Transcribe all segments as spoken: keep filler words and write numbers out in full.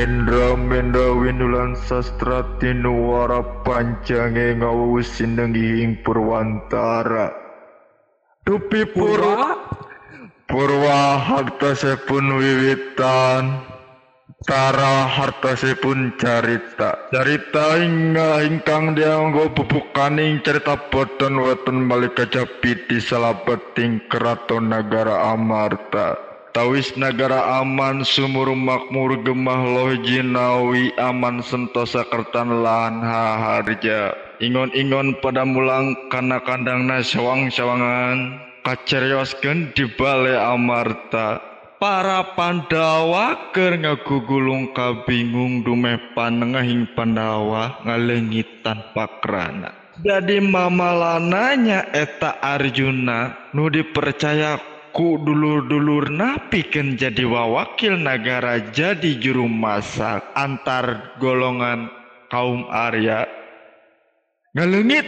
Hendra menda winulan sastra tinuwara panjange ngawusin nenging purwantara. Dupi purwa purwa hartasipun wiwitan, tara hartasipun carita. Carita hingga ingkang dianggo bubukaning cerita boten weten malih kajapiti salabeting keraton nagara Amarta. Tawis nagara aman sumur makmur gemah loh jinawi aman sentosa kertan lan haharja. Ingon-ingon pada mulang kana kandangna sawang-sawangan kacerioskeun di balai Amarta. Para Pandawa keur ngagugulung kabingung dumeh panengahing Pandawa ngalengitan pakrana. Jadi mamalananya eta Arjuna nu dipercaya ku dulur-dulurna pikeun jadi wawakil nagara jadi juru masak antar golongan kaum Arya. Ngaleungit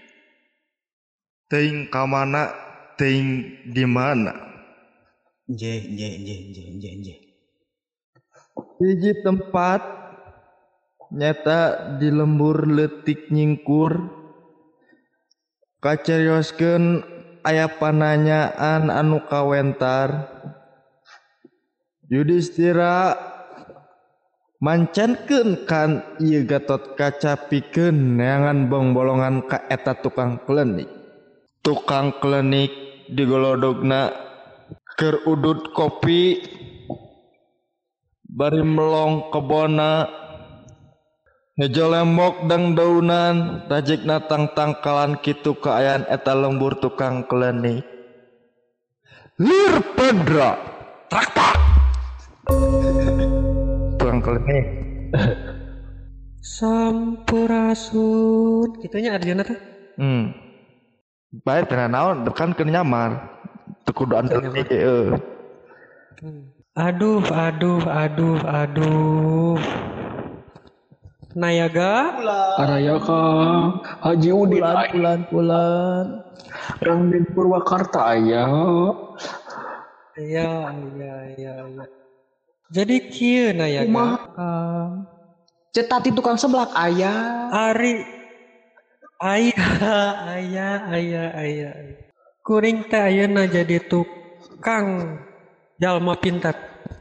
teuing ka mana teuing di mana. Je je je je je je. Hiji tempat nyata di lembur leutik nyingkur kacarioskeun aya pananyaan anu kawentar. Yudhistira mancankeun kan ieu Gatot Kaca pikeun neangan bongbolongan ka eta tukang klenik. Tukang klenik digolodogna keur udud kopi bari melong kebona hejo lembok dang daunan rajekna tang-tangkalan kitu kaayaan eta lembur tukang klenik. Lir Pendra trak-tak tukang klenik Sampurasun kitunya Arjuna teh. Hmm bae teh naon kan keur nyamar teu kudu andel heeh. Aduh aduh aduh aduh Nayaga Arayaka Haji Udin Pulan pulan pulan. Rangden Purwakarta aya. iya iya iya iya jadi kieu Nayaga Kumaha? Cetat itu tukang seblak aya. Ari aya aya aya aya kuring teh ayeuna jadi tukang jalma pintar.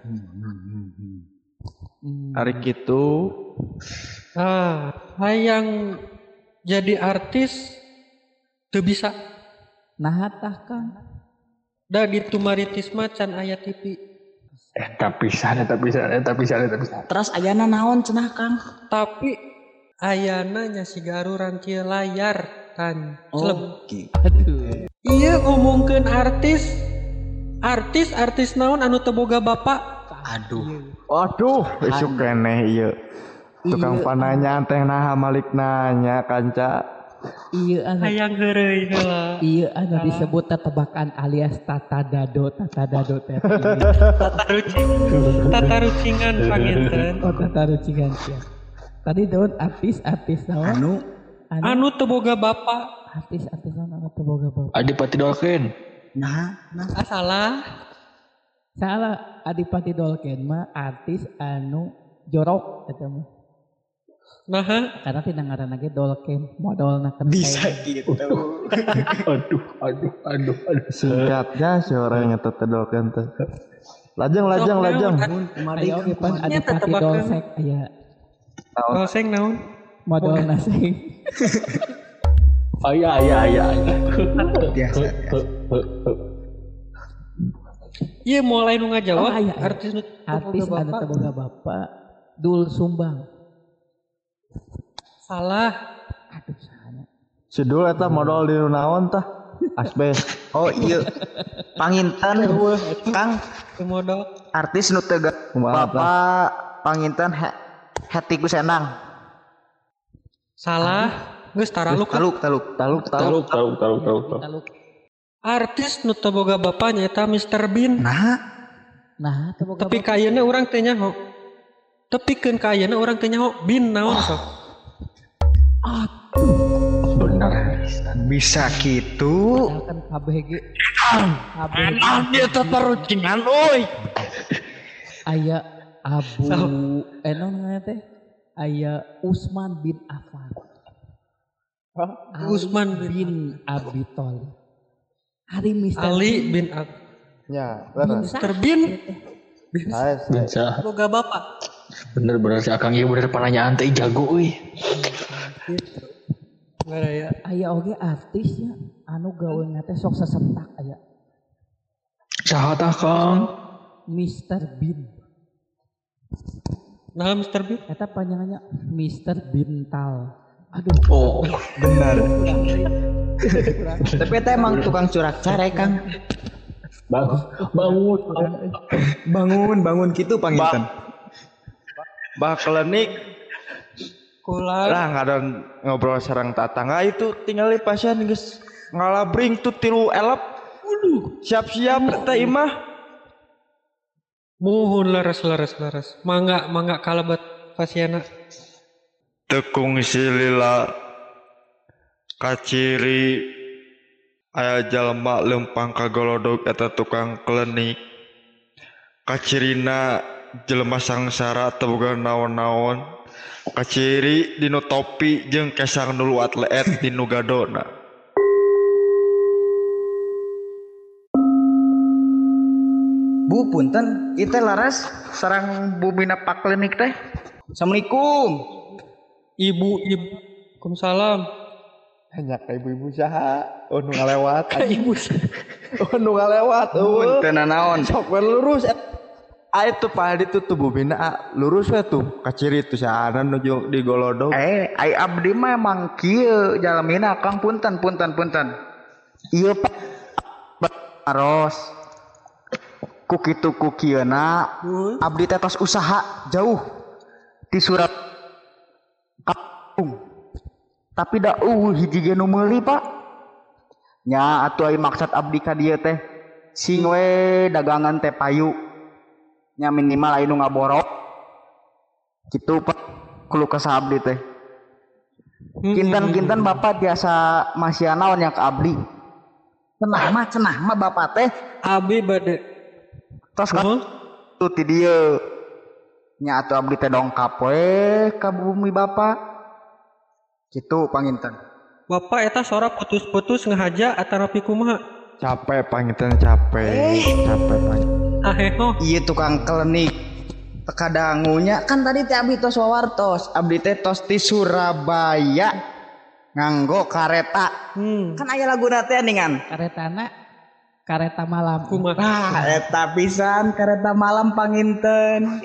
Hari kitu Ah, hayang jadi artis teu bisa. Nah tah Kang. Da gitu maritis macan aya T V. Eh tapi sana tapi sana tapi sana tapi sana. Terus ayana naon cenah Kang? Tapi ayana nya si garuran kieu layar kan. Celeb. Oke. Aduh. Iya ngomongkeun artis. Artis artis naon anu teu boga bapak? Aduh. waduh isu keneh ieu tukang pananya teh naha malik nanya kanca. Iya anu. Hayang heureuy heula. Iya anu disebut tebakan alias tata dado tata dado teh. Tata rucing. Tata rucingan panginten. Oh tata rucingan sia. Tadi daun artis-artis naon? Anu anu teu boga bapak. Artis-artis naon anu teu boga bapak. Adipati Dolken. Nah, nah. Ah salah. Salah Adipati Dolken mah artis anu jorok eta mah. Nah, Karena tina ngaranna ge Dolken modalna kan. Bisa gitu. aduh aduh aduh aduh. Singkatnya si orang yang tetedolkan teh. Lajeng lajeng lajeng. Kemarin oge pan Adipati Dolsek aya Dolsek naon? modalna seng. Aya aya aya. Biasa. Iya mulai nu ngajawab Oh, aya, aya. artis nu Artis boga anu bapak. teu boga bapak Dul Sumbang. Salah. Aduh sana. Si Dul eta modal di naon tah? Asbes. Oh iya. Panginten Kang Modal. artis nu teu Kumaha, Bapak panginten he- Hetty Kusenang. Salah. Geus tara lu kan. Taluk taluk. Taluk taluk. Taluk taluk taluk taluk. Kalau Artis nu teu boga bapaknya eta mister Bean. Nah, nah teu boga Tapi kayana urang teh nyaho. Tepikeun kayana urang teh nyaho Bean naon sok. Benar. bisa gitu. kan K B G. K B G. Dia tatarucingan oi. Aya Abu So. eh non ngaranna teh aya Usman bin Affan. Ali Usman bin bin Abi Thalib. Hari mister Ali bin Ab. Ya, bin leres. Mister Bin. Saes. Bisa. Boga bapak. Bener-bener si Akang ieu bener pananyaan teh jago euy. Gitu. Nggak ya. aya oge artisnya anu gaweuna teh sok sasetak aya Saha tah Kang? mister Bin. Nah Mister Bin. Eta panjangannya mister Bintal. Aduh, Oh, Benar. Tapi eta emang tukang curak care Kang. bangun, bangun. Bangun, bangun gitu panginten. Bah klinik Kula. lah ada ngobrol sareng tatangga itu tinggal di pasien geus ngalabring tuh tilu elep. Siap-siap teh imah. Muhun leres leres leres. Mangga mangga kalebet pasiena. Tekung silila kaciri aya jalma lempang kagolodog eta tukang klinik kacirina jelema sangsara teu boga naon-naon kaciri dinu topi jeung kesang dulu atlet dinu gadona. Bu punten, ieu teh laras sareng bumina pak klinik teh. Assalamualaikum. Ibu ibu. Waalaikumsalam. Hanya ka ibu-ibu saha oh nu ngalewat Ibu. oh nu ngalewat eueuh Punten naon? sok we lurus ah itu Pak Hadi tuh tuh bubina ah, lurus we tuh kaciri tuh sana nuju di golodog. Eh, ai abdi mah emang kieu jalemina Kang punten punten punten. Ieu Pak Aros. Ku kitu ku kieuna abdi teh tos usaha jauh di Surat Kampung. Tapi da uh hiji ge nu meuli Pak. Nya atuh ai maksud abdi ka dieu teh sing we dagangan teh payu. Nya minimal aya nu ngaborok. Kitu Pak kulo ka abdi teh. Kinten-kinten Bapak biasa masih naon yang ke abdi. Cenah mah cenah mah Bapak teh Abi bade. tos ka Huh? tuh ti dieu. Nya atuh abdi teh dongkap we ka bumi Bapak. Kitu panginten. Bapak eta sora putus-putus ngahaja atarapi kumaha? Capek panginten capek capek panginten. Aheho. Ieu tukang klinik teka dangunya kan tadi teh abdi tos wawartos. Abdi teh tos ti Surabaya nganggo kareta. Hmm. Kan aya laguna teh ningan. Karetana kareta malam. Kumaha? Ah, eta pisan kareta malam panginten.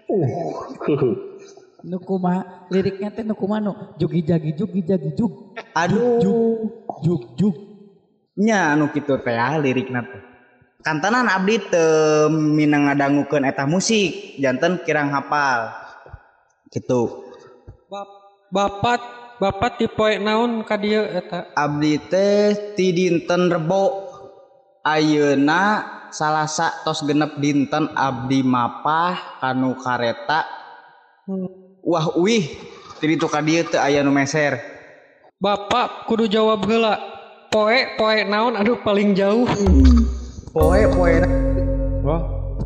Nu kumaha liriknya teh nu kumaha nu jugi jagi jugi jagi jug Aduh, jug jug. nya anu kitu teh ah, lirikna teh. Kantanan abdi teu minang ngadangukeun eta musik, janten kirang hafal. Gitu. Bap- Bapak Bapak tipe naon ka dieu eta? Abdi teh ti dinten Rebo. Ayeuna salasa tos genep dinten abdi mapah kanu kareta. Hmm. Wah uih, ti ditu ka dieu teu aya nu meser. Bapak kudu jawab heula. Poe poe naon aduh paling jauh. Poe poe Wah,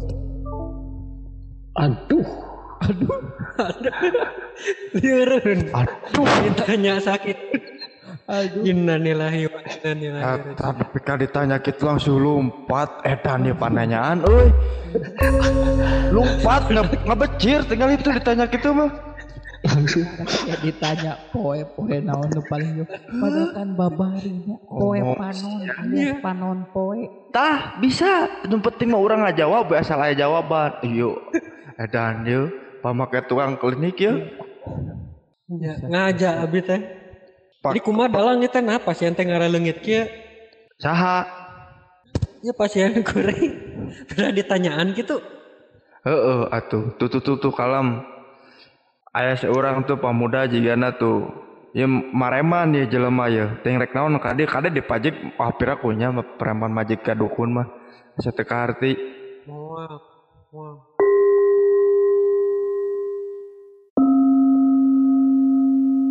Aduh. Lieureun. aduh. Ditanya sakit. Aduh. Innalillahi wa inna ilaihi raji'un. Tapi kan ditanya gitu langsung lompat edan ya pananyaan euy. Lompat nge- ngebecir tinggal itu ditanya gitu mah. Langsung. Ya ditanya poe poe naon nu paling yo. Padahal kan babarinya poe Oh. panon alias panon poe. Tah bisa, yang penting mah orang ngajawab asal aya jawaban. Iyo. Edan yeuh pamake tukang klinik yeuh. Ya, ngaja abi teh. Pak- Jadi kumaha dalang teh nah pasien teh ngaraleungit kieu. Saha? Ya pasien kuring. Pernah ditanyaan gitu. Heeh atuh. Tuh tuh tuh tuh kalem. Aya seorang tuh pemuda jigana tuh. Ya mareman ya jelema ya. Teng rek naon kade kade dipajik hampir akunya preman majik ka dukun mah. Asa teu kaharti. Moal. Moal.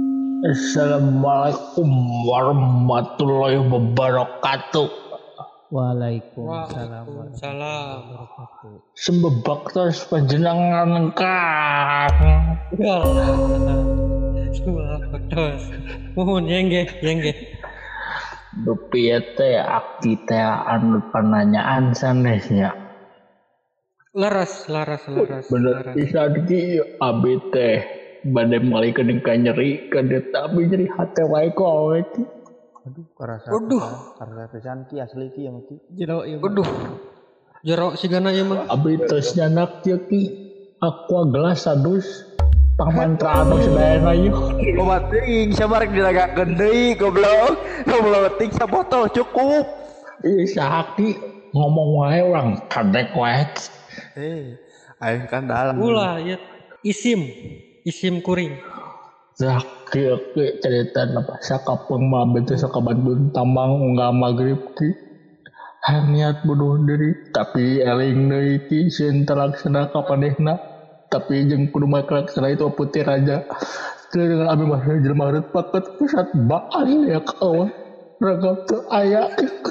Assalamualaikum warahmatullahi wabarakatuh. Waalaikumsalam Waalaikumsalam. wabarakatuh. Sembebak terus panjenengan kang. Ya. Semua terus. Mohon yenggeh, yenggeh. Dupieu teh akti teh anu pananyaan sanesnya. Laras, laras, laras. Bener laras. pisan ki abi teh bade malih kening ka nyeri ka eta abi nyeri hate wae ku awe ki. Aduh, karasa Waduh. pisan, karasa pisan ki asli ki ya maki. Jero ieu. Waduh. Jerok sigana ieu mah. Abi tos nyanak ieu ki aqua gelas sadus pamantra anu sadayana ieu. Obat teuing sabar dilagakeun deui goblok. Goblok ting sabotol cukup. Ieu sahaki ngomong wae urang kadek wae. Eh, aing kan dalam. Ulah ieu isim. Isim kuring. Zah kieu ki cerita apa sakapeung mah beuteus sakabandun tambang unggah magrib ki. Hayang niat bunuh diri tapi eling deui ki sieun terlaksana kapanehna. Tapi jeung kudu maklaksana itu putih raja. Dengan abi mah jelema hareup paket pusat baal ya kawan. Ragam teu aya.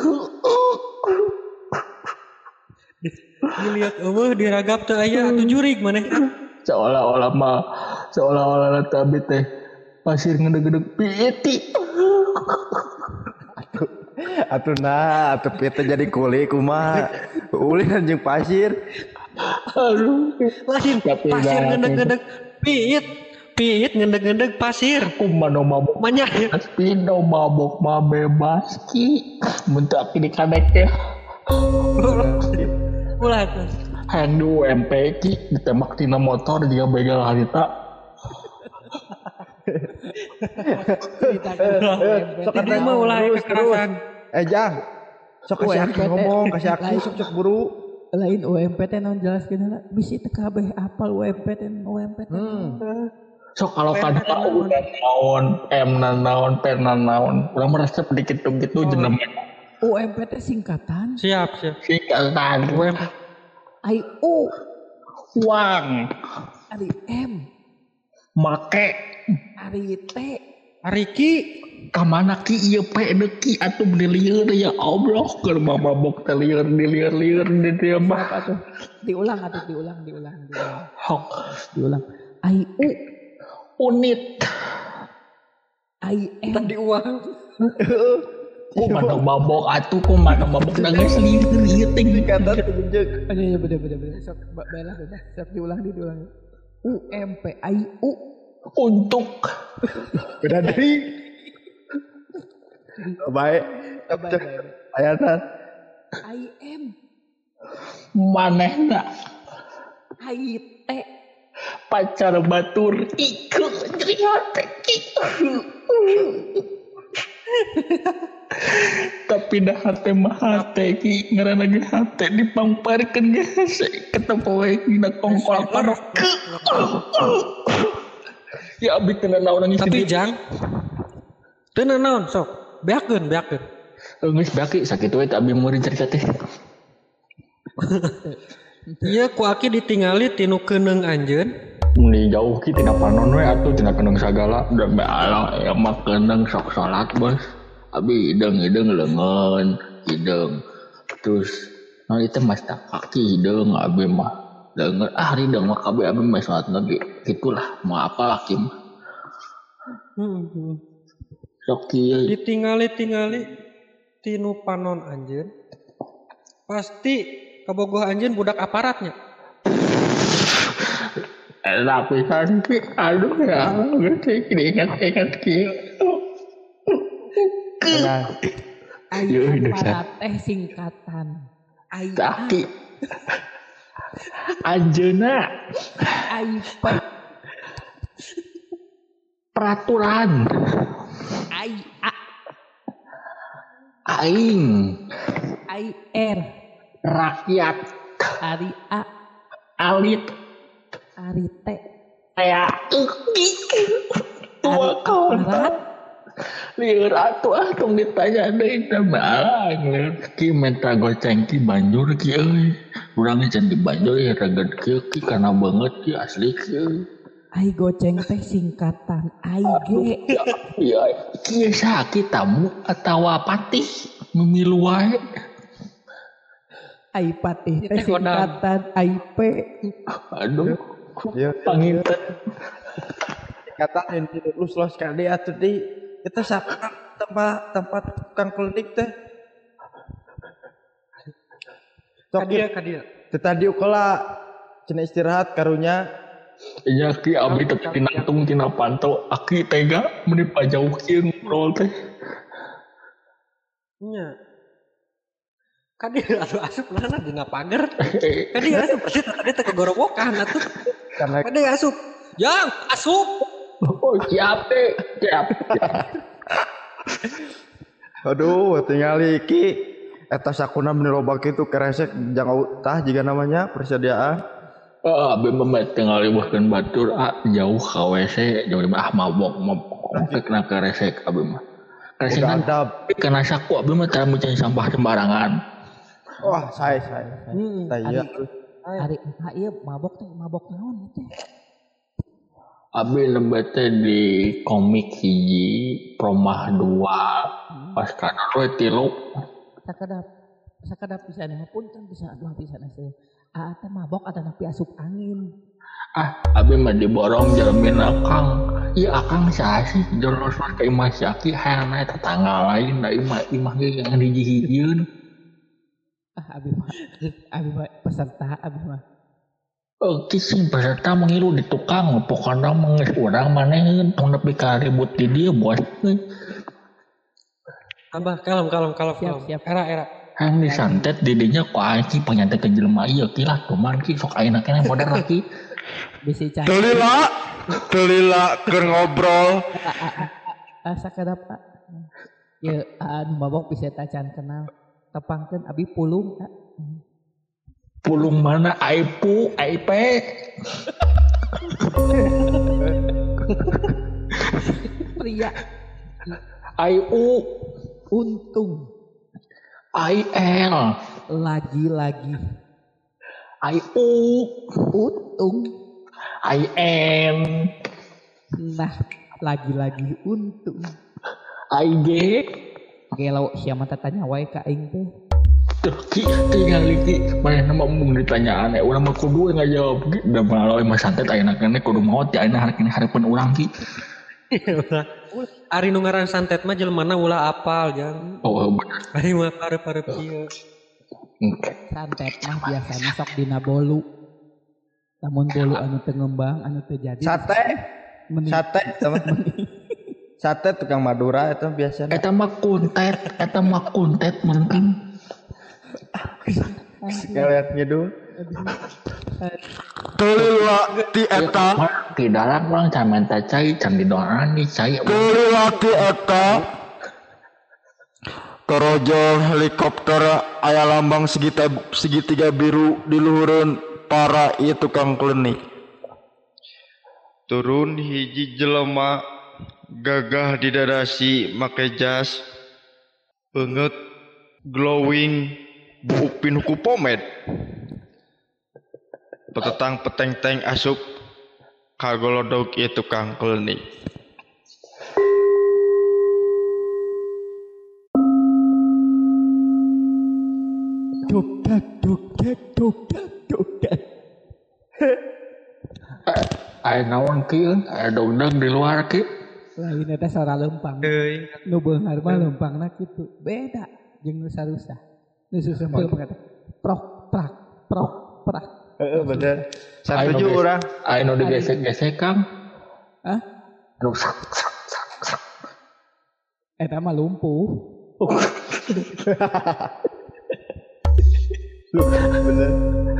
Dilihat eueuh diragap teu aya atuh jurig maneh. Seolah-olah mah seolah-olah tapi teh pasir ngedeg-ngedeg piiti. Atuh nah, atuh pieu teh jadi kuli kumaha. Uli anjing pasir. Aduh. Lain Tapi pasir dah, ngedeg-ngedeg piit. Piit ngedeg-ngedeg pasir. Kumano mabok Manyah ya. Pino mabok mah bebas ki. Mun teu aki dikadek teh. Ulah tuh. Hayang di U M P ki ditembak tina motor juga begal harita. Ceritakan U M P Sok teh Ini mah ulah terus, kekerasan. Eh Jang, sok kasih U M P Aki teh. ngomong, kasih Aki Lain. sok sok buru. lain U M P teh naon jelaskeun heula. Bisi teu kabeh apal U M P teh U M P teh. Hmm. So kalau kada udah naon, M na naon, P na naon, urang merasa sedikit tuh gitu jeneng U M P teh singkatan Siap, siap. singkatan U M P. I U uang, ari M make, ari T Ariki. kamana ki ieu P deki atuh beli lieur ya Allah keur mabok teh lieur di lieur-lieur di dieu mah. apa tuh? Diulang atuh diulang diulang diulang. Hok, Diulang. I U unit, I M Tadi uang. kumana mabok atuh kumana mabok nangis lieur ieu teh Kata tunjuk. Oh, iya, iya, bener bener bener. Sok ba- baiklah bener. Sok diulang di diulang. U M P I U untuk Beda deui. Baik. Baik, baik, baik. Ayatan. I M manehna I T pacar batur iku jadi hati iku. Tapi dah hati mah hati ki ngaranna ge hati dipamparkeun ge hese ketemu we dina kongkol parok. Ya abi teu naon nangis Tapi di Jang. Teu naon sok. Beakeun, beakeun. geus baki sakitu we teh abi murid cerita teh. Iya ku aki ditingali tinu keuneng anjeun. Meni jauh ki tina panon we atuh tina keuneng sagala da baala ya mah keuneng sok salat bos. Abi hideung-hideung leungeun, hideung. Terus nah itu mas tak kaki hideung abi mah. Leungeun ah hideung mah kabeh abi mah salat lagi. Gitulah mau apa laki mah. Hmm. Sok kieu Ditingali-tingali tinu panon anjeun. Pasti kabogoh anjeun budak aparatnya. Enak pisan ki aduh ya geus ingat-ingat kieu. Nah, I Yeuh, M dasar. para teh singkatan I A Taki anjeuna I P peraturan I A aing I R rakyat Ari A alit Ari T kayak tua kawan Aparat lieur atuh ah tong ditanya deui teh balang lieur ki minta goceng ki banjur ki euy urang can di banjur ya raget kieu ki kana banget ki asli ki euy I goceng teh singkatan I G ya ya kieu sakit tamu atawa patih memilu wae Aipa teh Teh kodam. singkatan A I P. Aduh, Iya. panginten. Kata yang lulus los kali atuh di kita sakit tempat tempat tukang klinik teh. Sok Kadia kadia. teu tadi ukeula cenah istirahat karunya Iya ki abi teh tinangtung tina pantau aki tega meni pajauh kieu ngobrol teh. Nya. Kadia asup asup mana dina pager. Kadia asup pasti tadi teh kegorowokan atuh. karena Kadia asup. Yang asup. Oh siap teh, siap. aduh tingali ki eta sakuna meni loba kitu keresek jangan tah jiga namanya persediaan. Ah, abi memet tinggal liwahkeun batur ah jauh ka W C, jauh ah mabok mabok kena keresek abi mah. Keresek Udah kan adab. kena saku abi mah tara mencari sampah sembarangan. Wah, saya saya. Hmm. Saya Hari entah ieu mabok teh mabok naon teh. Abi lebet teh di komik hiji Promah dua pas kana we tilu. Sakadap sakadap pisan punten bisa dua pisan asuh. Ah teh mabok ada napi asup angin. Ah, abi mah diborong jelemin akang. Iya akang saha sih jolos ka imah Syaki hayang naik tetangga lain da imah imah ge yang dijihieun. Ah abi mah abi mah peserta abi mah. Oke sih peserta mengilu di tukang pokoknya menges urang maneheun tong nepi ka ribut di dieu bos. Abah kalem kalem kalem Siap, kalem. siap. Era era. Yang disantet didinya ku aing penyantet ke jelema ieu kilah cuman ki sok ayeuna keneh modern lagi. Bisi can. Telila, telila keur ngobrol. Ah sakadap ah. Ye anu mabok bisa ta can kenal. Tepangkeun abi pulung ah. Pulung mana aipu aipe Pria aiu untung aiel lagi-lagi aiu untung. aien Nah, lagi-lagi untung. aige Gelo siapa tanya wae ka aing teh. tuh ki tinggal iki mana nama mung ditanyaan ya urang mah kudu nggak jawab ki da melalui mas santet ayeuna keneh kudu maot ya ayeuna hari kene hareupun urang ki. Ari nu ngaran santet mah jelemana ulah apal jang. Oh bener. Ari mah pareup-pareup kieu. Oke. Santet mah biasanya sok dina bolu. Namun bolu anu teu ngembang, anu teu jadi. Sate, Mending sate teman. Sate tukang Madura itu biasanya. Eta mah kuntet, eta mah kuntet mending. Sekalian ngidung. Telila ti eta, Di dalam orang camen teh cai can didoanan di cai. telila ti eta. Torojol helikopter aya lambang segitiga, segitiga biru di luhureun para ieu tukang klinik. Turun hiji jelema gagah didadasi make jas beungeut glowing buupin huku pomade. Petetang peteng-teng asup kagolodog ieu tukang klinik. Dukdak, dukdak, dukdak, dukdak. Aya naon kieu? Aya dogdag di luar ki. Lain eta suara lempang. Euy. Nu beunghar mah lempangna kitu. Beda jeung nu sarusa. Nu susempel mah kata prok prak prok prak. Heeh bener. Aya Satuju nu ges- urang. Aya nu digesek-gesek Kang. Hah? Nu sak sak sak sak. Eta mah lumpuh. Bener.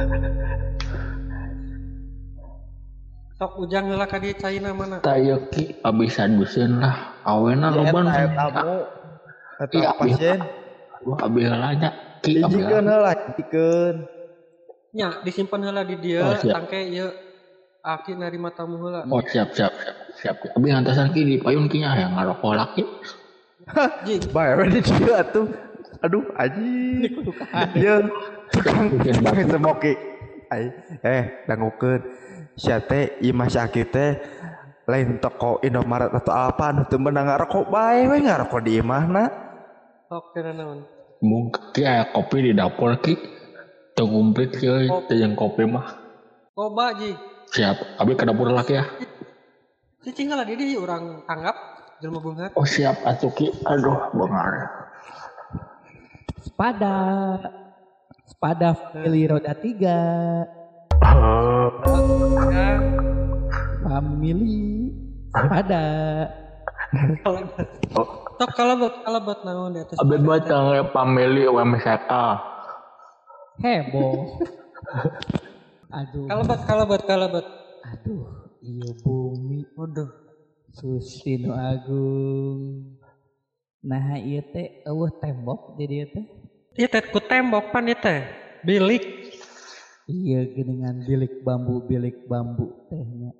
Sok ujang heula ka dieu caina mana? Taya ki abis aduseun lah. Awena loban. Eta tamu. Eta Iya, pasien. Wah abi heula nya. Ki abi Hijikeun heula. heula, hijikeun. Nya disimpan heula di dieu Oh, siap. tangke ieu aki narima tamu heula. Oh siap siap siap siap. Abi ngantosan ki di payun ki nya hayang ngarokok laki. Jing. Bae we di dieu atuh. Aduh, aji. Ieu tukang tukang semoki. Ai, eh dangukeun. Sia teh imah sakit teh lain toko Indomaret atau apa anu teu meunang ngarokok bae we ngarokok di imahna. Sok cenah naon? Mungkin ki aya kopi di dapur ki. Teu komplit kieu teh jeung kopi mah. Coba ji. Siap. Abi ke dapur laki ya. Cicing lah dia orang tanggap jelma beunghar. Oh siap atuh ki. Aduh beunghar. Sepada. Sepada family roda tiga. Family. Sepada. Tok kalebet kalebet naon di atas. Abi batang family W M S K. Heboh. Aduh. Kalebet kalebet kalebet. Aduh, iya bumi. Waduh. Susi nu agung. Nah ieu teh eueuh tembok di dieu teh. Ieu teh ku tembok pan ieu teh. Bilik. Iya geuningan bilik bambu bilik bambu tehnya.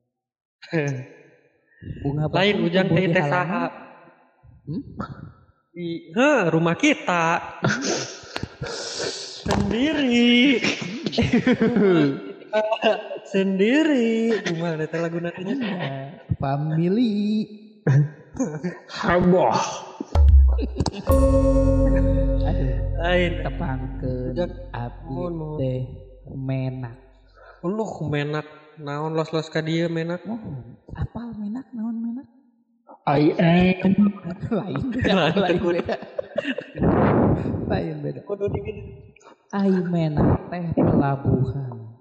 Bunga Lain bakung ujang tumbuh teh di teh halaman. saha? Hmm? Di heh, rumah kita. Sendiri. Sendiri. Gimana teh lagu nantinya? Iya, family. Heboh. Aduh, Lain. tepangkeun Ujang. abdi Mohon, mohon. teh menak. Uluh menak naon los-los ka dieu menak. Mohon, apal menak naon menak? I am. Lain beda, lain beda. Lain beda. Kudu digini. Ai menak teh pelabuhan.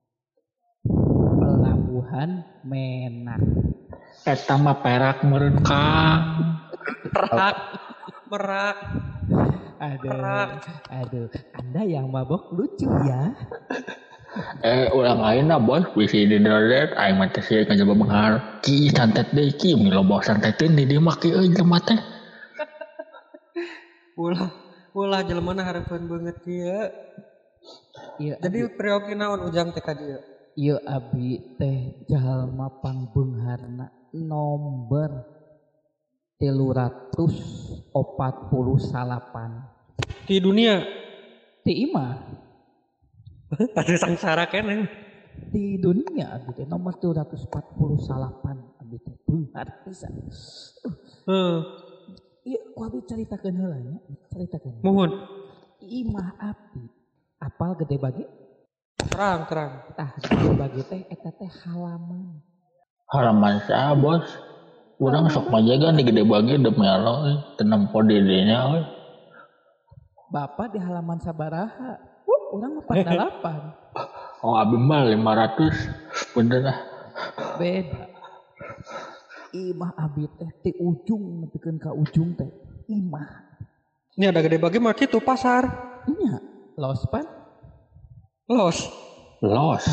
Pelabuhan menak. Eta mah perak meureun Kang. Merak. Merak. Aduh, Merak. aduh, Anda yang mabok lucu ya. Eh ulang ayeuna bos bisi di dolet aing mah teh sieun ka beunghar. Ki santet deui ki miloba santeteun di dieu mah ki euy jelema teh. Ulah ulah jelema hareupeun beungeut kieu. Iya, Jadi priyogi naon ujang teh ka dieu? iya abi teh jalma pangbeungharna nomor tilu ratus opat puluh salapan. Di dunia Ti imah ada sangsara keneh. di dunia abi teh nomor tilu ratus empat puluh salapan abi teh beunghar pisan. Heeh. Iya, ku abi caritakeun heula nya, caritakeun. Mohon. Imah abi apal gede bagi? Terang terang. Tah gede bagi teh eta teh halaman. Halaman saha bos? Urang sok majagan di gede bagi demi Allah euy, teu nempo di dinya euy. Bapak di halaman sabaraha? Wuh, urang mah empat puluh delapan. Oh abi mah lima ratus. Bener lah. Beda. Imah abi teh ti ujung nepikeun ka ujung teh. Imah. Ini ada gede bagi mah kitu pasar. Nya, lospan. Los. Los.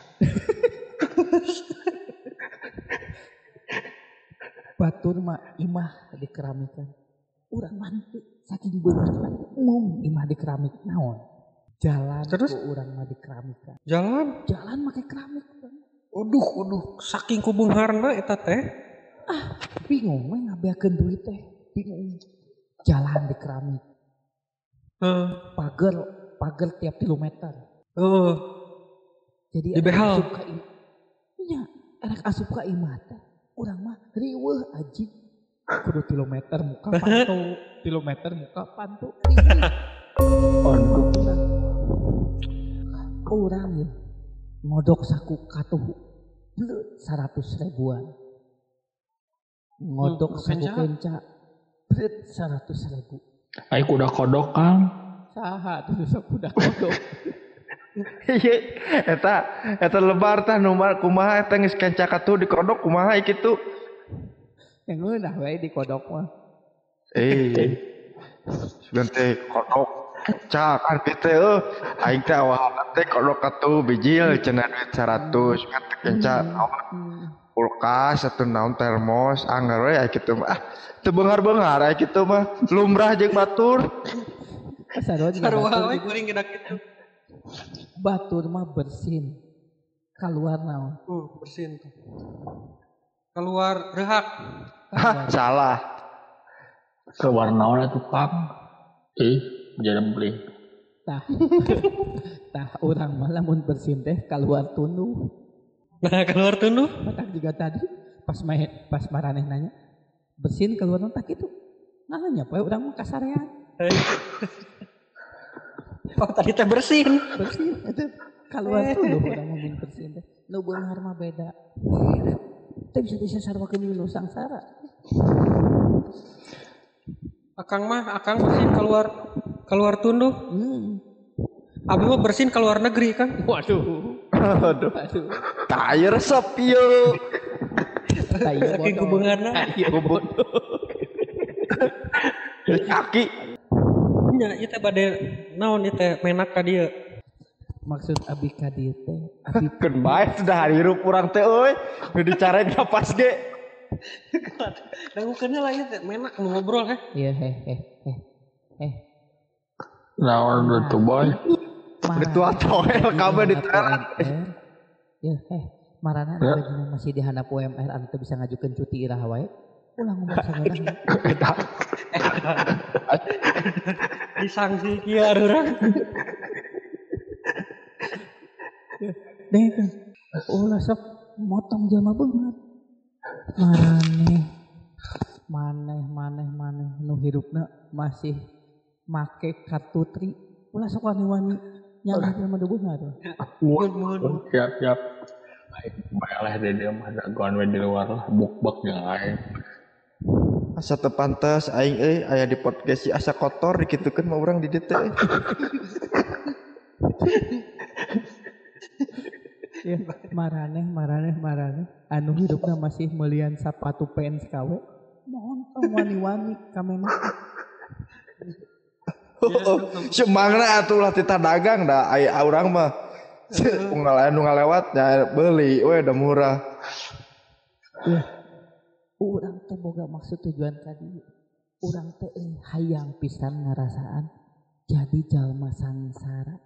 Batur mah imah di keramikan. Urang mah teu saking beunghar umum imah di keramik naon? Jalan Terus? ku urang mah di keramikan. Jalan. Jalan make keramik. Uduh, uduh, saking kubeungharna eta teh. Ah, bingung we ngabeakeun duit teh. Bingung. Jalan di keramik. Heeh. Pager, pager tiap kilometer. Heeh. Jadi Di behal. asup ka imah. Nya, erek asup ka imah teh. Urang mah riweuh aji. Kudu kilometer muka pantu, kilometer muka pantu. Aduh. Urang ya ngodok saku katuh beut seratus ribuan. Ngodok Hmm, saku kenca. kenca beut seratus ribu. Ai kuda kodok Kang. Saha tuh sok udah kodok. Ieu eta eta lebar tah nu mah kumaha eta geus kenca katuh di kodok kumaha kitu. Yang ngeunah we di kodok mah. Eh. Sugan teh kodok kenca kan kitu euy. Aing teh awalna teh kodok katuh bijil cenah duit seratus kan teh kenca naon kulkas atau naon termos anggar we aya kitu mah. Ah, teu beunghar-beunghar aya kitu mah lumrah jeung batur. Sarua juga Sarua batur, we kuring gedak kitu. batur mah bersin. Keluar naon? Uh, bersin tuh. Keluar rehak. Hah, salah. Keluar naon atuh Kang? Ih, jarang beli. Tah. Tah urang mah lamun bersin teh keluar tunduh. Nah, keluar tunduh. Matak juga tadi pas main pas maraneh nanya bersin keluar nontak itu nanya poe urang mah kasarean Oh, tadi teh bersin. Bersin itu keluar tuh loh orang ngomong bersin teh. Nu beunghar mah beda. Beda. Teh bisa disasarwakeun dulu sangsara. Akang mah akang bersin keluar keluar tunduh. Hmm. Abi mah bersin keluar negeri kan. Waduh. Aduh. Aduh. Tai resep ieu. Saking kubeungarna. Gubuk. Kaki. Nya ieu teh bade naon ieu teh menak ka dieu. Maksud abi ka dieu teh abi Keun bae sudah hirup urang teh euy. Nu dicarek napas ge. Dangukeunna lah ieu teh menak nu ngobrol heh. iya heh heh heh heh Naon itu boy? Betul toel kabeh diteran. Ya heh marana Ya. gajinya masih di handap U M R anu teu bisa ngajukeun cuti irah wae. Ulang ngomong sagarang. Disangsi kieu urang. Deh kan. Ulah sok motong jelema beungat. Maneh maneh maneh maneh nu hirupna masih make kartu tri. Ulah sok wani-wani nyangka jelema deung beungat. Mun mun. Siap siap. Baik, boleh deh dia mah dagoan we di luar lah, buk-buk yang lain. Asa teu pantes aing euy aya di podcast si asa kotor dikitukeun mah urang di dieu teh. Ya, maraneh maraneh maraneh anu hidupna masih melian sepatu pants kawe. Mohon tong wani-wani kamena. Semangna atuh ulah tita dagang da aya urang mah. Unggal anu ngalewat nya beuli we da murah. Urang teh boga maksud tujuan tadi. Urang teh eh, hayang pisan ngarasaan jadi jalma sangsara.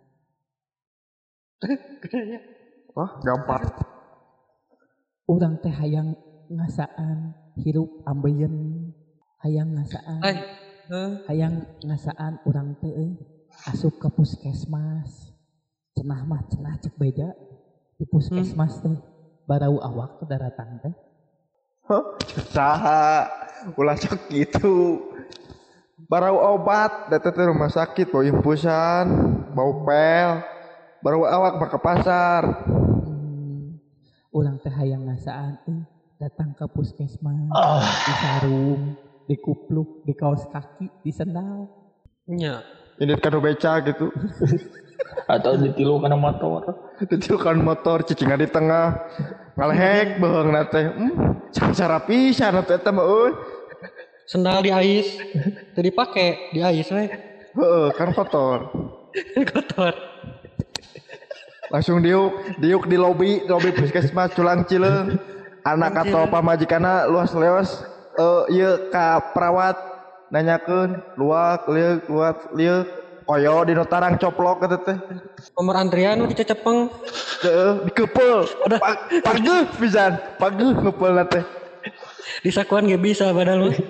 Wah, gampang. Urang teh hayang ngasaan hirup ambeien, hayang ngasaan, Ai. Heuh. hayang ngasaan urang teh eh, asup ke puskesmas. Cenah mah cenah cek beja di puskesmas teh barau awak teh daratang teh. Hah? Saha? Ulah sok gitu. Barau obat, datang ke rumah sakit, bau impusan, bau pel, baru awak mah ke pasar. Hmm, urang teh hayang ngasaan eh, datang ke puskesmas, di sarung, di kupluk, di kaos kaki, di sendal. Nya. Ini kan beca gitu. Atau ditilu kana motor. Ditilukan motor cicingan di tengah. Ngalehek beheung teh. Hmm, sangsara pisan atuh eta mah euy. Sendal di ais. Teu dipake, di ais we. Heeh, kan kotor. Kotor. Langsung diuk, diuk di lobi, lobi puskesmas Culang Cileung. Anak atau pamajikanna luas-leos eh ieu ka perawat nanyakeun luak, liuk, luak, liuk. Koyo di notarang coplok eta teh. Nomor antrian nu dicecepeng. Teu dikeupel. Pageuh pisan, pageuh ngeupelna teh. Di sakuan ge bisa padahal mah.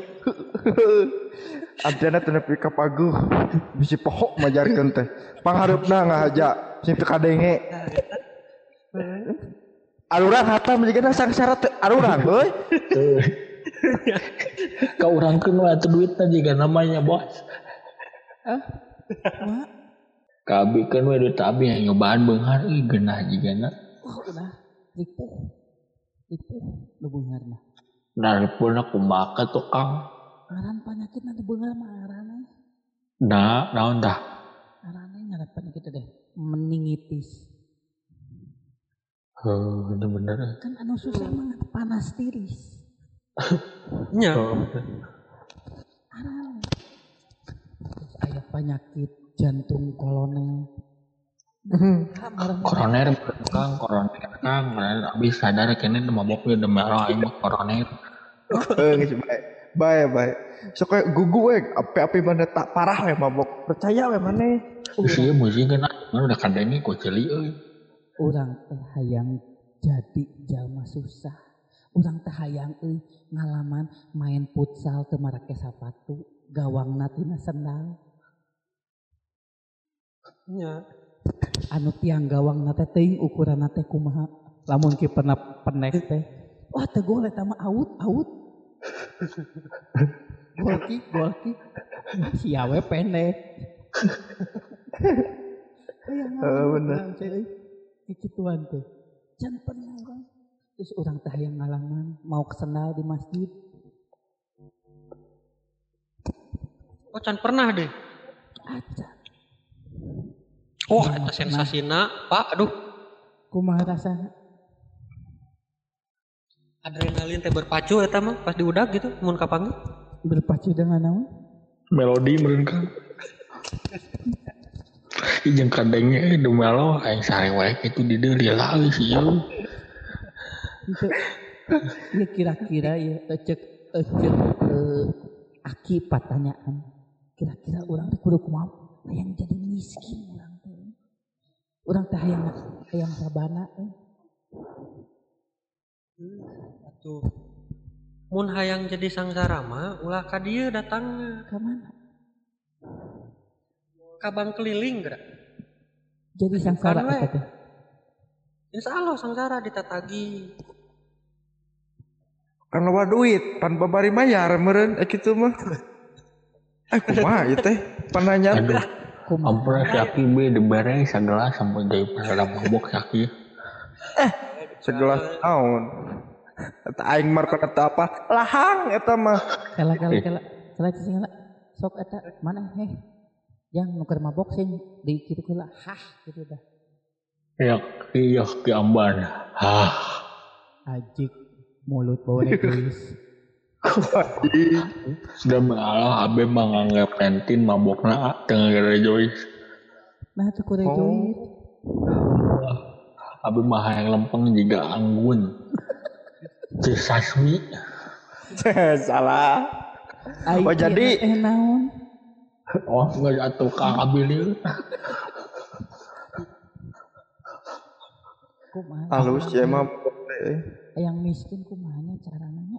Adana teh nepi ka paguh. Bisi pohok majarkeun teh. Panghareupna ngahaja sing teu kadenge. Arurang hatam jigana sangsara teu arurang euy. Ka urang keun we atuh duitna jiga namanya bos. Ah, mak, Kabi kan we duit abi yang nyobaan beunghar euy geunah jigana. wah udah ripuh, ripuh, nu beunghar mah. Naripuna kumaha tuh Kang. Ngaran penyakit nanti beunghar mah ngaranna. Nah, naon tah? Ngaranna ngaran penyakit deh, meningitis. Heuh, bener-bener. Kan anu susah mah panas tiris. Nya. Ngaran. Terus aya penyakit jantung kolonel. Koroner Kang, koroner Kang, koroner abi sadar kene mabok we demi Allah aing mah koroner. Heeh, geus bae. Bae bae. Sok we gugu we api-api mana tak parah we mabok. Percaya we maneh. Geus ieu musik kan udah kadenge ku ceuli euy. Urang teh hayang jadi jalma susah. Urang teh hayang euy ngalaman main futsal teu marake sapatu, gawangna tina sendal. Nya. Anu tiang gawangna teh teuing ukuranna teh kumaha? Lamun kiperna pendek teh. Wah teu gol eta mah out out. Gol kick gol kick. Sia we pendek. yang Eh, bener. Kikituan teh. Can pernah orang. Terus orang teh yang ngalangan mau kesenal di masjid. Oh can pernah deh. Aja. Wah eta sensasina Pak. Aduh. Kumaha rasana? Adrenalin teh berpacu eta mah pas diudag gitu mun kapanggih. Berpacu dengan naon? Melodi meureun kan. Jeung kadenge de melo aing sare wae kitu di dieu lila euy sih. Itu ya kira-kira ya ecek ecek eh, aki pertanyaan. Kira-kira orang teh kudu kumaha hayang jadi miskin urang teh. Urang teh hayang hayang sabana eh. Atuh. Mun hayang jadi sangsara mah ulah ka dieu datangna. Ka mana? Ka bank keliling geura. Jadi sangsara Kan we. eta teh. Insyaallah sangsara ditatagi. Kan loba duit, pan babari mayar meureun eh kitu mah. Eh kumaha ieu teh? Pananyaan. Aduh. Ampura Syaki be dibere sagelas sampai jadi pada mabok Syaki. Segelas naon? Eta aing mar kata apa? Lahang eta mah. Kala kala kala kala cicing kala. Sok eta mana heh. Yang nuker mabok sing di kitu kala hah gitu dah. Ya iya ki amban. Hah. Ajik mulut bawa egois. Sudah mengalah abe menganggap pentin mabokna tengah gara Joyce. Nah tuh kudu join. Abe mah yang lempeng juga anggun. Cisasmi. Salah. Oh, jadi- eh naon? Oh nggak jatuh kang abilir. Kumaha? Halus ya mah. Yang miskin kumahanya caranya?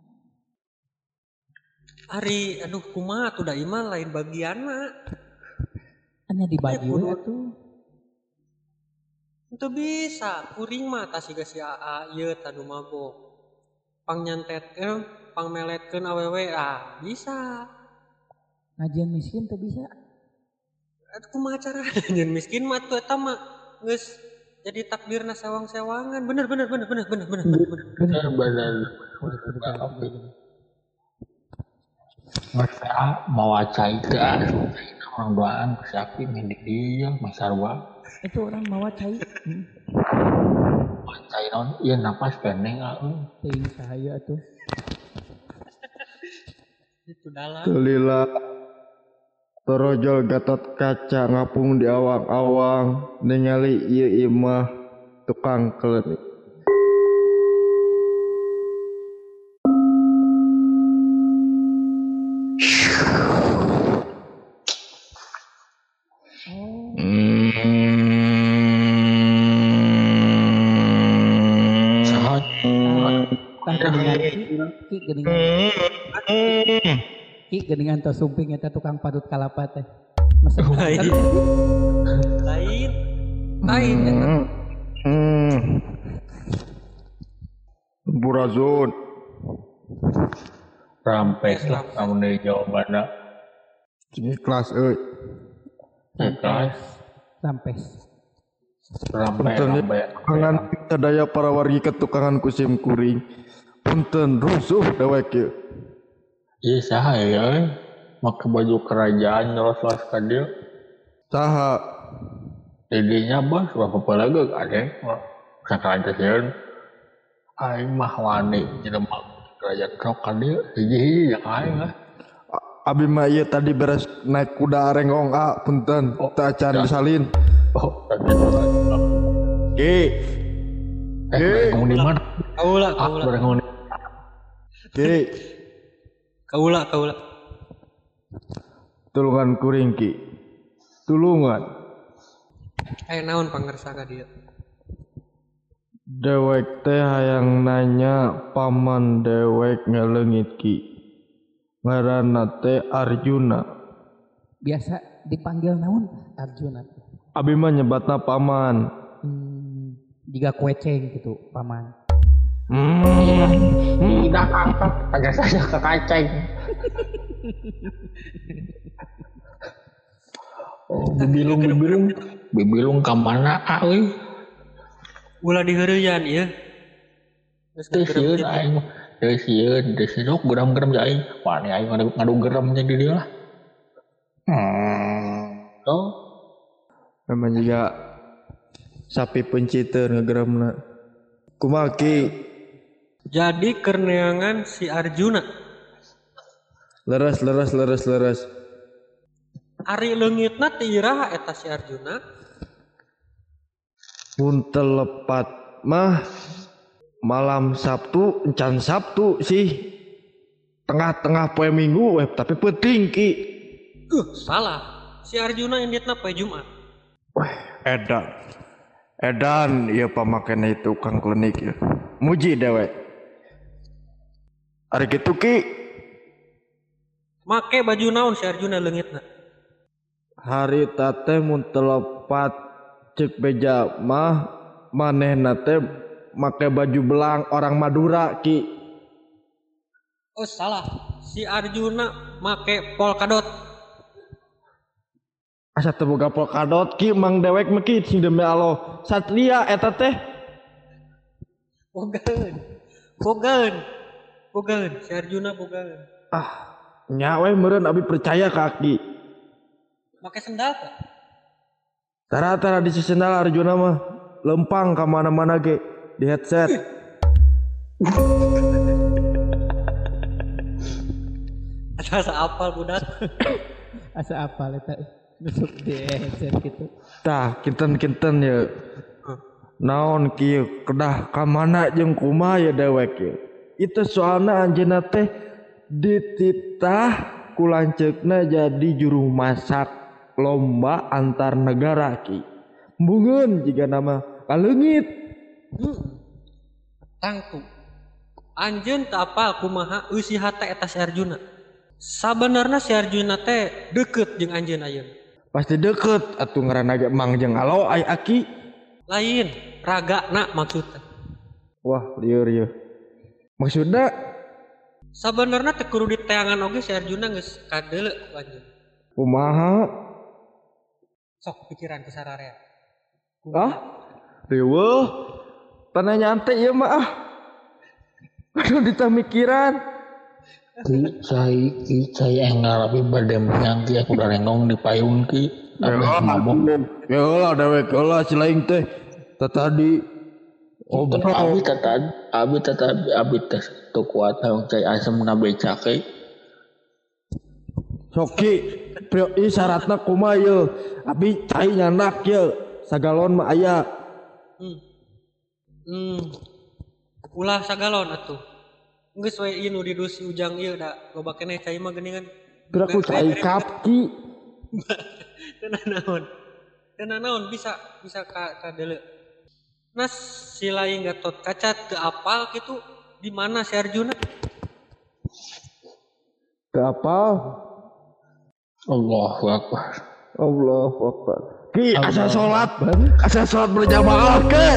Ari aduh kumaha tuh da iman lain bagianna. Hanya dibagi Eh, kudu. we atuh. Itu bisa, kuring mah tas siga si A A ieu tanu mabok. Pang nyantetkeun, pang meletkeun awewe ah bisa. Ngajian miskin tuh bisa. Aduh kumaha carana nyeun miskin mah tuh eta mah geus jadi takdirna sewang-sewangan. Bener bener bener bener bener bener bener. bener. Benar benar. Masa mau wacai itu orang doaan Syaki mendik dia masarwa. Itu orang mawa cai. Hmm. Wacai non iya napas pendeng ah. Teuing sahaya atuh. Itu dalam. Tulila torojol Gatot Kaca ngapung di awang-awang ningali ieu imah tukang klenik. Sahat. Tah geningan ki, ki geningan. Ki geningan tos sumping eta tukang padut kalapa teh. Masa Lain. Lain. Lain eta. Hmm. Burazun. Rampes lah kamu dari jawabannya. Ini kelas euy. Ikhlas. Rampes. Rampe Punten rampe. tukangan sadaya para wargi ketukangan kusim kuring. Punten rusuh dewek ieu. Iya saha ya. Make baju kerajaan nyeros-los ka dieu. Saha? Didinya bos bapak pelaga kadeng. Sakaraja sieun. Aing mah wani jelema kerajaan krok ka dieu. Hiji-hiji yang aing lah. Abi mah ieu tadi beres naik kuda rengong A punten Oh, teu acan ya. disalin. Oh, tadi itu. Ge. Eh, Eh. kamu di mana? Kaula Ah, kaula. bareng kamu di Ge. Kaula kaula. Tulungan kuring ki. Tulungan. Eh naon pangersa ka dieu? Dewek teh hayang nanya paman dewek ngeleungit ki. Ngaranna teh Arjuna. Biasa dipanggil naon? Arjuna. Abi mah nyebatna paman. Hmm, jika kueceng gitu, paman. Tidak kakak, agak saja ke kacang. Oh, bibilung bibilung bibilung ka mana euy? Ulah diheureuyaan ieu. Geus Teu ngagerem sieun kitu. aing mah. Teu sieun, teu sieun geram-geram ja aing. Wani aing ngadu ngadu geremnya di dieu lah. Hmm. Oh, Memang juga sapi penciter ngegeramna. Kumaha Ki? Jadi kerneangan si Arjuna Leres leres leres leres. ari leungitna teu iraha eta si Arjuna. Mun telepat mah malam Sabtu encan Sabtu sih. Tengah-tengah poe Minggu weh tapi penting Ki. Uh, salah. Si Arjuna inditna poe Jumat. Weh, edan. Edan ieu pamakena itu tukang klinik ya. Muji dewe. Ari kitu Ki, Make baju naon si Arjuna leungitna? hari tate mun telepat cek beja mah manehna teh make baju belang orang Madura Ki. Oh, salah. Si Arjuna make polkadot. Asa teu boga polkadot Ki mang dewek mah Ki sing demi Allah. Satria eta teh. Bogan. Bogan. Bogan. Si Arjuna bogan. Ah, nya we meureun abi percaya ka Ki. Make sendal teh. Tara-tara di sendal Arjuna mah lempang ka mana-mana ge di headset. Asa apal budak. Asa apal eta nusuk di headset gitu. Tah, kinten-kinten ya. Naon kieu kedah ka mana jeung kumaha ya dewek ya. Itu soalna anjeunna teh dititah ku lanceukna jadi juru masak lomba antar negara Ki. Mbungeun jiga nama kaleungit. Hmm. Tangtu. Anjeun teu apal kumaha eusiha teh eta si Arjuna. Sabenerna si Arjuna teh deukeut jeung anjeun ayeuna. Pasti deket atuh ngaranna ge Mang jeung Alo ai Aki. Lain, ragana maksudna. Wah, lieur ieu. Maksudna Sabenerna teu kudu diteangan oge si Arjuna geus kadeuleu ku anjeun. kumaha? Sok pikiran ke sararea. Ah, riweuh. Tanah nyantai ieu mah ah. Aduh ditamikiran. ki cai ki cai enggal tapi bade menyang ki aku udah rengong di payung ki. Tapi mabok. Ya lah dewek lah si lain teh. Tadi Oh, abi tata abi tata abi teh teu kuat hayang cai asem na beca ke. Soki prio ieu syaratna kumaha ieu? Abi cai nyandak ieu. Sagalon mah aya. Hmm. Hmm. Ulah sagalon atuh. Geus we ieu nu di dusi ujang ieu da loba keneh cai mah geuningan. Gerak ku cai kapki. Tenan naon. Tenan naon bisa bisa ka kadeuleu. Nah, si lain Gatot Kaca teu apal gitu di mana si Arjuna? Teu apal. Allahu akbar. Allahu akbar. Ki asa salat, asa salat berjamaah ke.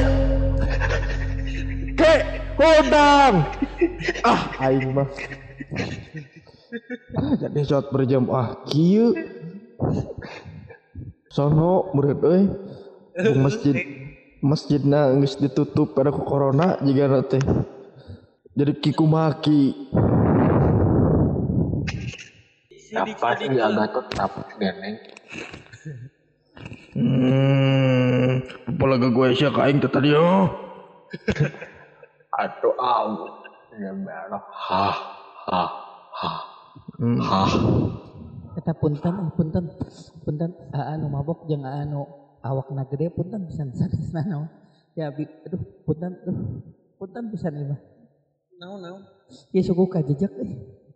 Ke hodang. Ah, aing mah. Ah, jadi salat berjamaah kieu. Sono murid euy. Di masjid masjidna geus ditutup pada ku corona jiga teh. Jadi kikumaki. Apa sih Gatot apa geneng? Hmm, apalagi gue sih kain teh tadi oh. Atuh aw. Ya merah. Ha ha ha. Hmm. Ha. Eta punten, eh, punten, punten, anu mabok jeung anu awakna gede punten pisan sanesna naon. Ya bi, aduh punten, aduh punten pisan ieu mah. Naon naon? Ieu suku kajejak euy.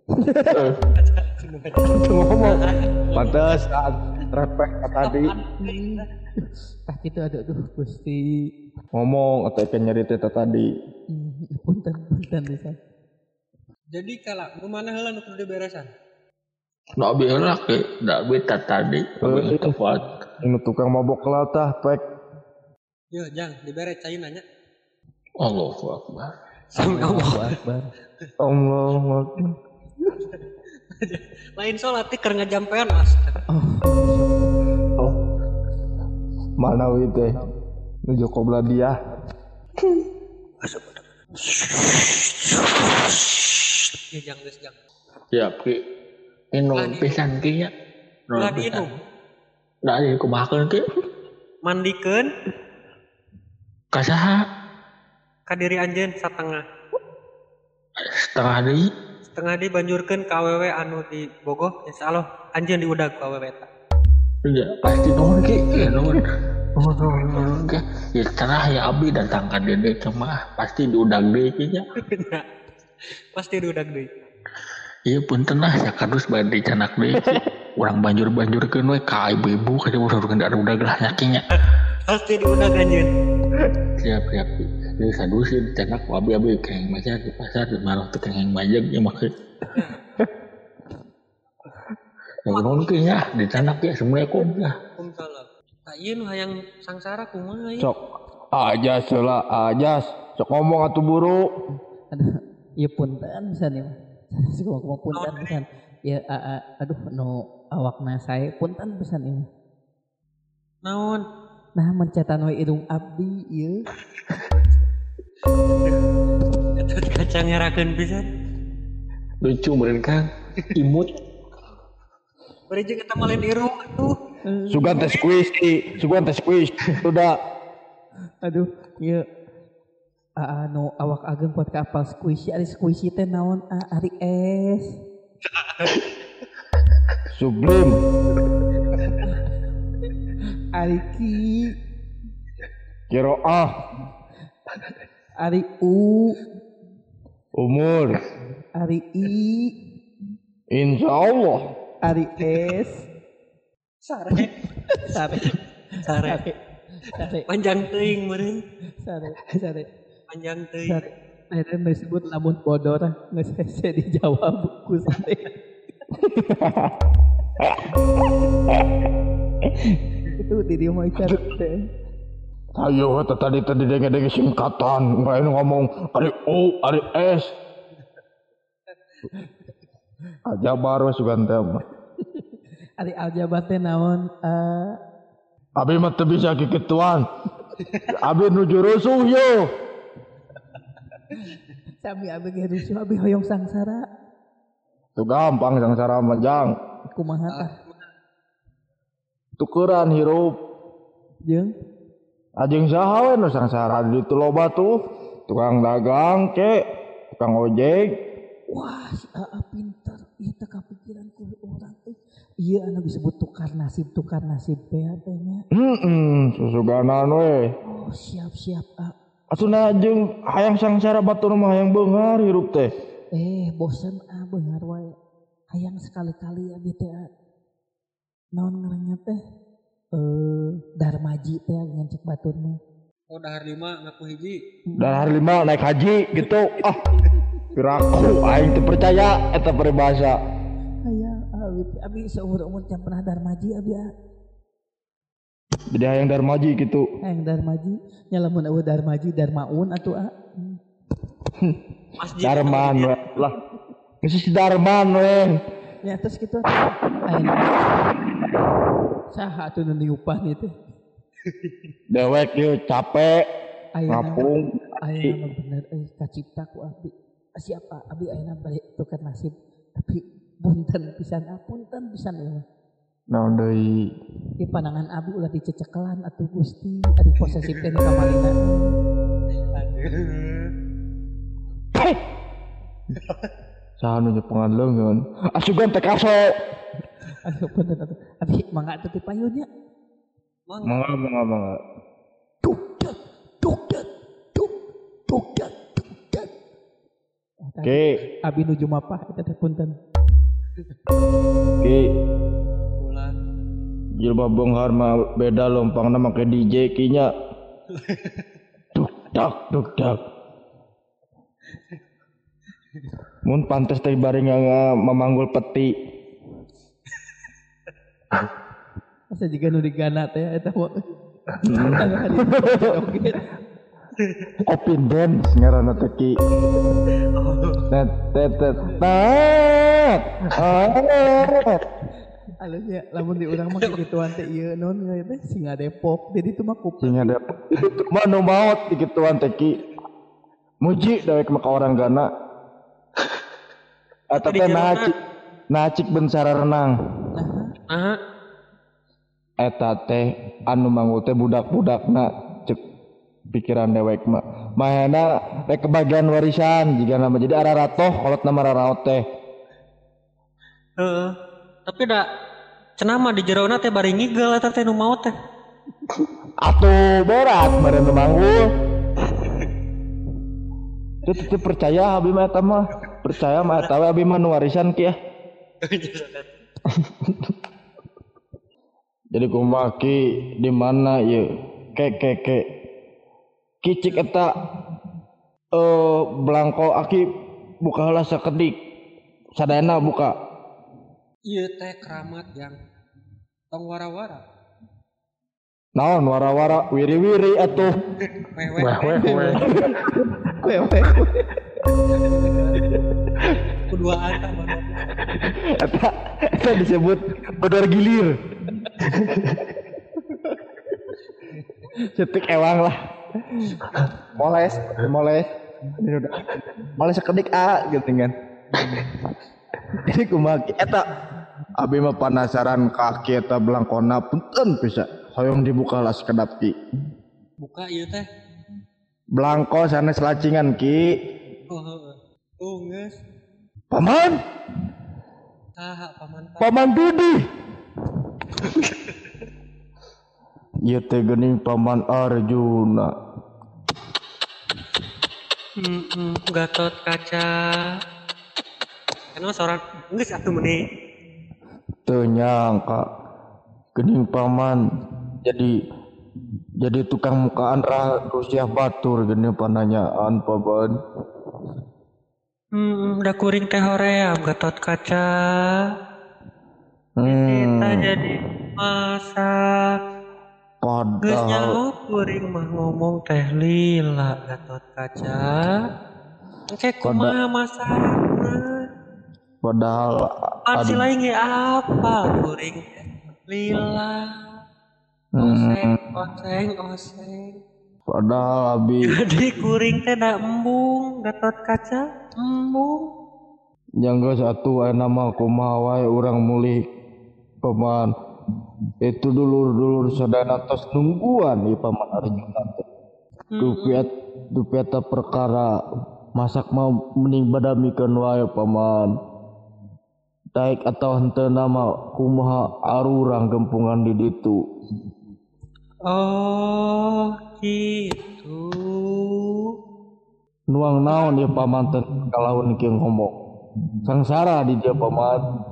Ngomong pantes repek tadi Tah kitu aduh aduh Gusti. ngomong atau ikan nyari teh tadi. Hmm, punten, punten pisan. Jadi kala kumana heula nu kudu diberesan? Nak bilang ke, nak beta tadi, tapi itu kuat. Ini tukang mabok latah pek. Yo, jang diberes cai nanya. Allahu akbar. Sami Allahu Allah. Akbar. Allahu akbar. Lain salat teh keur ngajampean mas. Oh, Mana wi teh? Nuju kobra dia. Ya jang geus jang. Siap ki. Inung pisan ki nya. Ulah diinum. Da ieu kumahakeun ki. Mandikeun Ka saha? ka diri anjeun satengah. Setengah deui. Setengah di banjurkeun ka awewe anu di bogoh insyaallah anjeun diudag ku awewe eta. Iya, pasti nuhun ki. Iya nuhun. Nuhun nuhun nuhun ki. Ya cenah ya abdi datang ka dede cemah pasti diudag deui ki nya. Pasti diudag deui. Iya punten lah sakadus bade dicanak deui ki. Urang banjur-banjurkeun we ka ibu-ibu ka urang da udag lah nyakinya. Pasti diudag anjeun. Siap siap. Jadi sadus sih dicanak ku abi-abi kengeng maca di pasar di malah teu kengeng majeg nya mah. Ya nuhun ki nya dicanak ya assalamualaikum ya. Waalaikumsalam. Tah ieu nu hayang sangsara kumaha ieu? Sok ajas heula ajas. Sok ngomong atuh buru. Aduh, ieu punten pisan ieu. Suka ngomong punten pisan. Ya a- a- aduh nu awakna sae punten pisan ieu. Naon? Nah mencetan we irung abdi ieu. Eta kaca ngerakeun pisan. Lucu meureun Kang. Imut. Bari jeung eta malen irung atuh. Sugan teh squishy, sugan teh squishy. Udah. Aduh, ieu a- anu awak ageng kuat ka apal squishy, ari squishy teh naon? A- Ari es. Sublim. Ari ki, Kiroah. ari u, Umur. ari i, Insyaallah. ari es. Sare. Sare. Sare. Sare. Panjang teuing meureun. Sare. Sare. Panjang teuing. Sare. Akhirnya disebut lamun bodor nggak saya dijawab ku sare. Itu di dia mau icar teh. Ayo eta tadi tadi denge-denge singkatan, nggak ngomong ari O, ari S. Aja baru sugan teh mah. Ari aljabar teh naon? Eh, Abi mah teu bisa kikituan. Abi nuju rusuh yo. sami abi ge rusuh abi hoyong sangsara. Tuh gampang sangsara mah jang. Kumaha tah? Tukeran hirup. Jeung Ajeng saha we nu sangsara di ditu loba tuh. Tukang dagang ke, tukang ojek. wah si Aa pinter. Ieu teh kapikiran ku urang teh. Ieu anu disebut tukar nasib, tukar nasib teh teh nya. Heeh, susuganan we. Oh, siap-siap A. Asuna jeung hayang sangsara batur mah hayang beungar hirup teh. Eh, bosan ah beungar wae. Hayang sekali-kali abi teh. A. Naon ngaranna teh? Eh, Darmaji teh ngan cek batur mah. Oh dahar lima ngaku hiji. Dan hari lima naik haji gitu. Ah, piraku aing teu percaya eta peribahasa. Hayang abi abi seumur-umur can pernah Darmaji abi A. Jadi hayang darmaji gitu. Hayang Darmaji, nya lamun eueuh Darmaji Darmaun atuh A. Masjid. Darman we lah. Geus si Darman we. Ya terus gitu ayeuna saha atuh nu diupah nih teh. Dewek ieu capek, Ayeuna ngapung. ayeuna mah bener euy kacipta ku abdi. Siapa abdi ayeuna balik tukar nasib tapi punten pisan ah punten pisan ya. Naon deui? Di pandangan abdi ulah dicecekelan atuh Gusti ari posesif teh di kamarina. Heh. Saha nu nyepengan leungeun? Asugan teh kaso. Aduh punten atuh. Abdi mangga atuh ti payunnya. Mangga mangga mangga. Duk dak duk dak duk duk dak duk dak. Oke, Abi nuju mapah eta teh punten. oke. Bulan. Jilbab beunghar mah beda lompangna make D J kinya. Duk dak duk dak. Mun pantes teh bari nga memanggul peti. Asa jiga nu digana teh eta mah. Opin dance ngaranna teh ki. Tet tet tet. Tet. Ah. Alusnya lamun di urang mah kegituan teh ieu non teh Singa Depok. Jadi itu mah kupu. Singa Depok. Itu mah nu maot di kituan teh ki. Muji dewek mah ka orang gana. Eta teh nacik nacik bencara renang. Aha. Eta teh anu mangul teh budak-budakna cek pikiran dewek mah. Mahena rek kebagian warisan jiga nama jadi araratoh kolot nama raraot teh. Heeh. Tapi da cenah mah di jeroana teh bari ngigel eta teh nu maot teh. Atuh berat meureun manggul. Itu percaya abi mah eta mah. Percaya mah eta we abi mah nu warisan kieu. Jadi kumaha ki di mana ieu? Ke ke ke. Kicik eta eh belangko aki buka heula sakedik. Sadayana buka. Ieu teh keramat yang tong wara-wara. Naon wara-wara wiri-wiri atuh. Weh weh Weh weh weh. Wewe. Keduaan tah baru. Eta eta disebut bodor gilir. Cetik ewang lah. Moles, moles. Ini udah. Moles sekedik a gitu kan. Jadi kumaha eta abi mah penasaran kaki eta belangkona punten bisa. Hoyong dibuka lah sekedap ki. Buka ieu teh. Belangko sanes lacingan ki. Oh heeh. Tuh geus. Paman, Saha paman tah? paman Dudi. Ieu teh geuning paman Arjuna. Heeh, Gatot Kaca. Kana seorang geus atuh meuni. Teu nyangka geuning paman jadi jadi tukang mukaan Rusiah Batur geuning pananyaan paman. Hmm, udah kuring teh hoream Gatot Kaca. Kita Hmm, jadi masak. Geus padahal nyaho kuring mah ngomong teh lila Gatot Kaca. Engke kumaha masakna? padahal Pan aduh, lain ge apa kuring teh lila. Oseng, hmm, oseng, oseng. padahal abi Jadi kuring teh da embung Gatot Kaca, embung. nyangga satu aya nama kumaha wae urang mulih paman itu dulur-dulur sadayana tos nungguan ieu paman Arjuna teh. Dupiat dupiata perkara masak mah mending badamikeun wae paman. Daek atawa henteu nama kumaha arurang gempungan di ditu. Oh, gitu. Nuang naon ieu paman teh kalaun kieu ngomong. Sangsara di dia paman.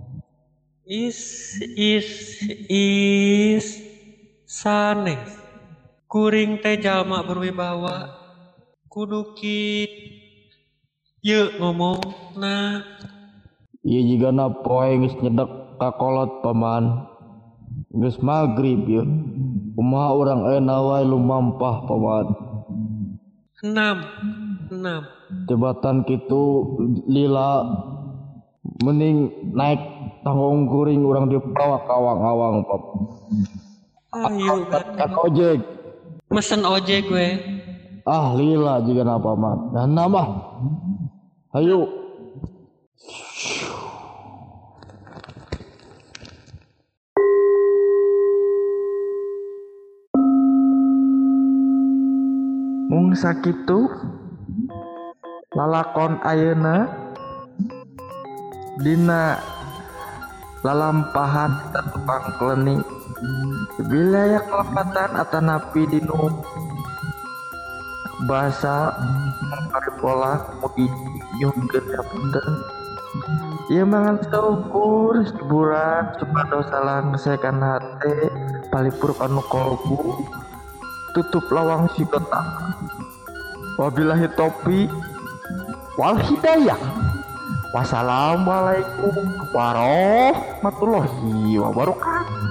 Is is is sanes. Kuring teh jalma berwibawa. Kudu kit. Ye ngomong nah. Ieu jigana poe geus nyedek ka kolot paman. Geus magrib ieu. Kumaha urang ayeuna wae lumampah paman. Enam, enam. Jabatan kitu lila mending naik tanggung kuring urang dibawa ka awang-awang paman. Ayo Kan ojek. mesen ojek gue. Ah lila jigana paman. Dan nama. Hayu. Mung sakitu lalakon ayeuna dina lalampahan tukang klenik wilayah Kelepatan atanapi dinu bahasa Paripola mudi nyungkeun sapunten ieu mangan saukur hiburan supados salang sekan hate palipur kanu kolbu tutup lawang si kotak wabillahi taufiq wal hidayah wassalamualaikum warahmatullahi wabarakatuh.